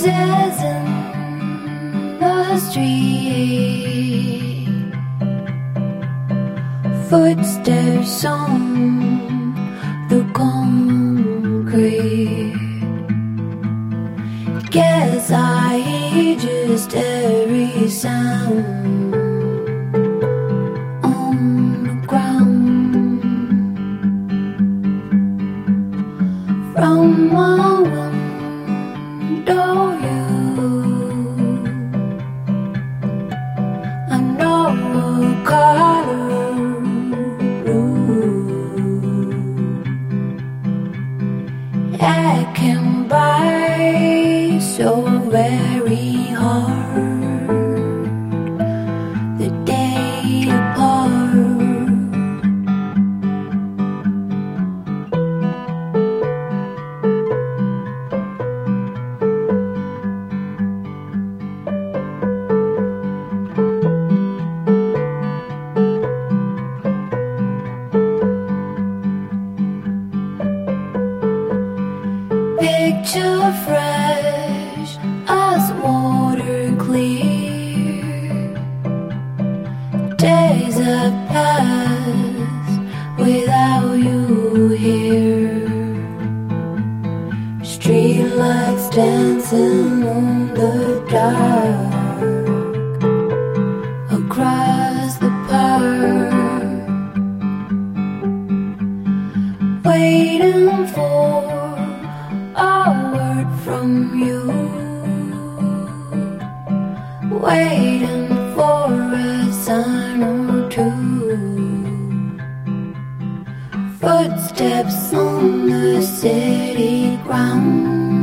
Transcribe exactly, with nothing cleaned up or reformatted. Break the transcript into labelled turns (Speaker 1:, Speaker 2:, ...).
Speaker 1: Voices in the street, footsteps on the concrete. Guess I hear just every sound on the ground. From my window view, I know what color blue. I can buy so very hard the day apart. Picture fresh as water clear. Days have passed without you here. Streetlights dancing on the dark across the park, waiting for a word from you, waiting for a sign or two. Footsteps on the city ground.